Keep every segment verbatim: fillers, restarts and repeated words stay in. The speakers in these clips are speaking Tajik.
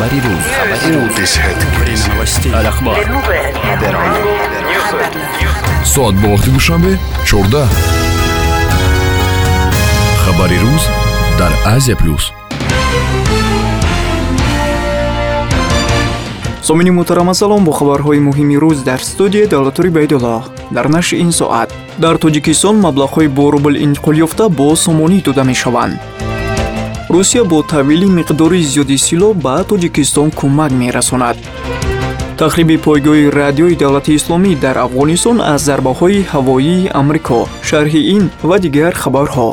خبری روز соат ба вақти душанбе чордаҳ. хабари рӯз дар Азия плюс. сомини муҳтарам ассалом, бо хабарҳои муҳими рӯз дар студия Давлатури Байдулло. Дар нашри ин соат: дар Тоҷикистон маблағҳои бо рубл интиқол ёфта бо сомонӣ дода мешаванд. Русия бо таҳвили миқдори зиёди силоҳ ба Тоҷикистон кӯмак мерасонад. тахриби пойгоҳи радиои Давлати Исломӣ дар Афғонистон аз зарбаҳои ҳавоии Амрико. Шарҳи ин ва дигар хабарҳо.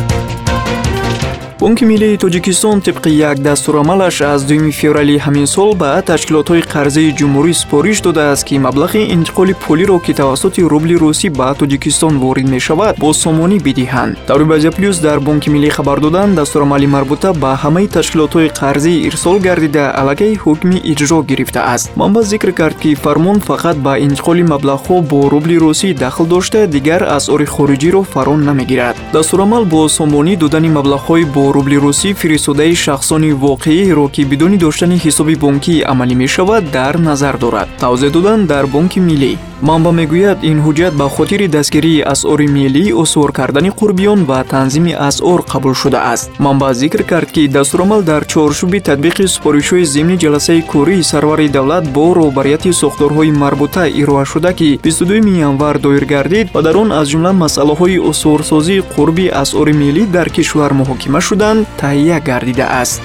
Бонки Миллии Тоҷикистон тибқи як дастурамалаш аз дуюми феврали ҳамин сол ба ташкилотҳои қарзаи ҷумҳурӣ супориш додааст, ки маблағи интиқоли пулиро, ки тавассути рубли русӣ ба Тоҷикистон ворид мешавад, бо сомонӣ бидиҳанд. Таври Азия плюс дар Бонки Миллӣ хабар доданд, дастурамали марбута ба ҳамаи ташкилотҳои қарзӣ ирсол гардида аллакай ҳукми иҷро гирифтааст. Манбаъ зикр кард, ки фармон фақат ба интиқоли маблағҳо бо рубли русӣ дахл дошта, дигар асъори хориҷиро фаро намегирад. Дастурамал бо сомонӣ додани маблағҳои бо рубли русӣ фиристодаи шахсони воқеиро, ки бидуни доштани ҳисоби бонкӣ амалӣ мешавад, дар назар дорад. тавзеҳ доданд дар Бонки Миллӣ. Манбаъ мегӯяд, ин ҳуҷҷат ба хотири дастгирии асъори миллӣ, усур кардани қурбиён ва танзими асъор қабул шудааст. Манбаъ зикр кард, ки дастурамал дар чоршуби татбиқи супоришҳои зимни ҷаласаи кӯрии сарвари давлат бо роҳбарияти сохторҳои марбута ироа шуда, ки бисту дуюми январ доир гардид ва дар он аз ҷумла масъалаҳои усурсозии қурби асъори миллӣ дар кишвар муҳокима шуданд, таҳия гардидааст.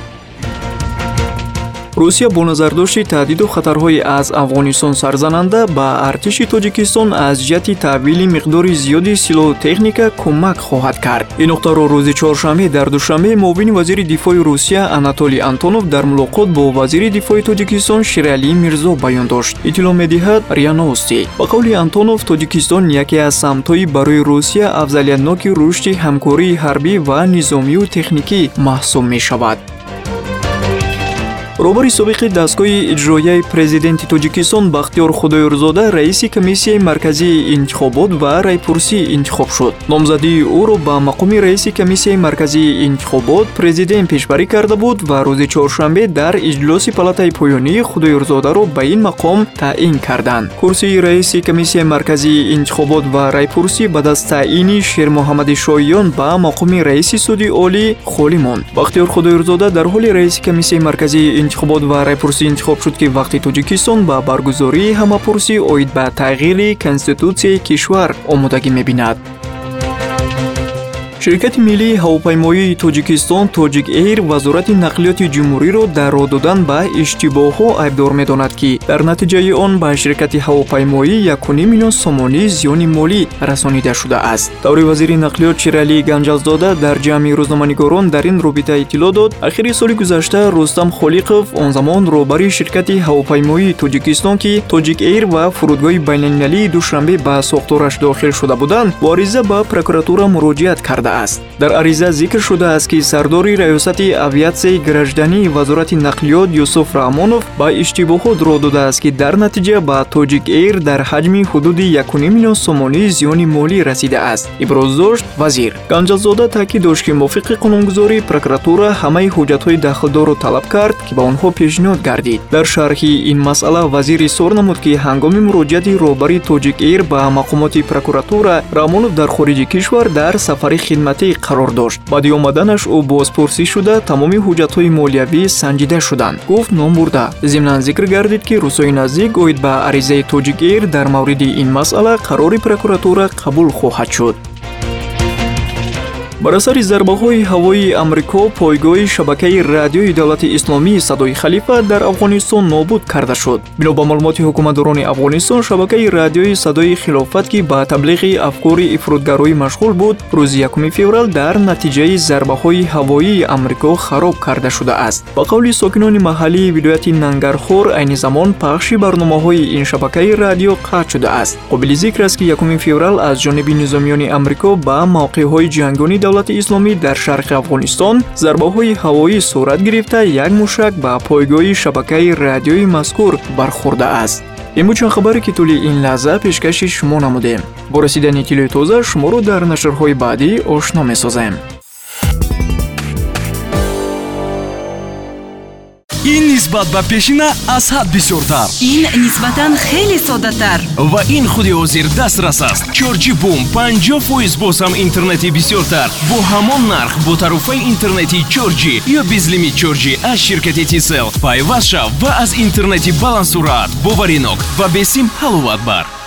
Русия бо назардошти таҳдиду хатарҳои аз Афғонистон сарзананда ба артиши Тоҷикистон аз ҷиҳати таҳвили миқдори зиёди силоҳу техника кӯмак хоҳад кард. Ин нуқтаро рӯзи чоршанбе дар Душанбе муовини вазири дифои Русия Анатолий Антонов дар мулоқот бо вазири дифои Тоҷикистон Ширалӣ Мирзо баён дошт. Иттилоъ медиҳад РИА Новости. Ба қавли Антонов, Тоҷикистон яке аз самтҳои барои Русия афзалиятноки рушди ҳамкории ҳарбӣ ва низомию техникӣ маҳсуб мешавад. роҳбари собиқи дастгоҳи иҷроияи президенти Тоҷикистон Бахтиёр Худоёрзода раиси комиссияи марказии интихобот ва райпурсӣ интихоб шуд. номзадии ӯро ба мақоми раиси комиссияи марказии интихобот президент пешбарӣ карда буд ва рӯзи чоршанбе дар иҷлоси палатаи поёнӣ Худоёрзодаро ба ин мақом таъин карданд. курсии раиси комиссияи марказии интихобот ва райпурсӣ ба даст таъини Шермуҳаммади Шоиён ба мақоми раиси суди олӣ холӣ монд. Бахтиёр Худоёрзода дар ҳоли раиси комиссияи марказии интихобот ва райпурсӣ интихоб шуд, ки вақти Тоҷикистон ба баргузории ҳамапурсӣ оид ба тағйири конститутсияи кишвар омодагӣ мебинад. ширкати миллии ҳавопаймоии Тоҷикистон Тоҷик Эйр вазорати нақлиёти ҷумҳуриро дар роҳ додан ба иштибоҳҳо айбдор медонад, ки дар натиҷаи он ба ширкати ҳавопаймоӣ яку ним миллион сомонӣ зиёни молӣ расонида шудааст. таври вазири нақлиёт Ширалӣ Ганҷалзода дар ҷамъи рӯзноманигорон дар ин робита иттилоъ дод. Ахири соли гузашта Рустам Холиқов, он замон роҳбари ширкати ҳавопаймоии Тоҷикистон, ки Тоҷик Эйр ва фурудгоҳи байналмилалии Душанбе ба сохтораш дохил шуда буданд, бо ариза ба прокуратура муроҷиат карда. дар ариза зикр шудааст, ки сардори раёсати авиатсияи граждании вазорати нақлиёт Юсуф Раҳмонов ба иштибоҳот роҳ додааст, ки дар натиҷа ба Тоҷик Эйр дар ҳаҷми ҳудуди яку ним миллион сомонӣ зиёни молӣ расидааст, иброз дошт вазир. Ганҷалзода таъкид дошт, ки мувофиқи қонунгузорӣ прокуратура ҳамаи ҳуҷҷатҳои дахлдорро талаб кард, ки ба онҳо пешниҳод гардид. дар шарҳи ин масъала вазир изҳор намуд, ки ҳангоми муроҷиати роҳбари Тоҷик Эйр ба мақомоти прокуратура, Раҳмонов дар хориҷи кишвар дар сафари хидматӣ қарор дошт. баъди омаданаш ӯ бозпурсӣ шуда тамоми ҳуҷҷатҳои молиявӣ санҷида шуданд, гуфт ном бурда. зимнан зикр гардид, ки рӯзҳои наздик оид ба аризаи Тоҷик Эйр дар мавриди ин масъала қарори прокуратура қабул хоҳад шуд. бар асари зарбаҳои ҳавоии Амрико, пойгоҳи шабакаи радиои Давлати Исломии Садои Халифа дар Афғонистон нобуд карда шуд. бино ба маълумоти ҳукуматдорони Афғонистон, шабакаи радиои Садои Хилофат, ки ба таблиғи афкори ифротгароӣ машғул буд, рӯзи якуми феврал дар натиҷаи зарбаҳои ҳавоии Амрико хароб карда шудааст. ба қавли сокинони маҳаллии вилояти Нангархор, айни замон пахши барномаҳои ин шабакаи радио қатъ шудааст. қобили зикр аст, ки якуми феврал аз ҷониби низомиёни Амрико ба мавқеъҳои ҷангони Давлати Исломӣ дар шарқи Афғонистон зарбаҳои ҳавоӣ сурат гирифта, як мушак ба пойгоҳи шабакаи радиои мазкур бархӯрдааст. ин буд чанд хабаре, ки тӯли ин лаҳза пешкаши шумо намудем. бо расидани иттилои тоза шуморо дар нашрҳои баъдӣ ошно месозем. ин нисбат ба пешина аз ҳад бисёртар. ин нисбатан хеле соддатар. ва ин худи ҳозир дастрас аст. чорҷи бум панҷоҳ фоиз боз ҳам интернети бисёртар бо ҳамон нарх бо тарофаи интернети чорҷи ё безлимит чорҷи аз ширкати Тисел. пайваст шав ва аз интернети баландсуръат, боваринок ва бесим ҳаловат бар.